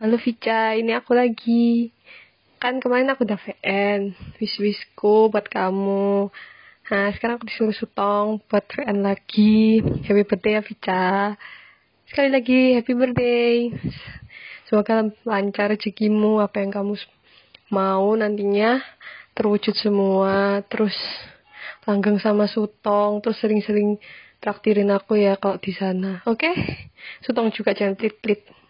Halo Vica, ini aku lagi. Kan kemarin aku udah VN, wish-wishku buat kamu. Nah, sekarang aku disuruh Sutong buat VN lagi. Happy birthday ya Vica. Sekali lagi, happy birthday. Semoga lancar rezekimu, apa yang kamu mau nantinya terwujud semua. Terus langgeng sama Sutong, terus sering-sering traktirin aku ya kalau di sana. Oke? Sutong juga jangan pelit-pelit.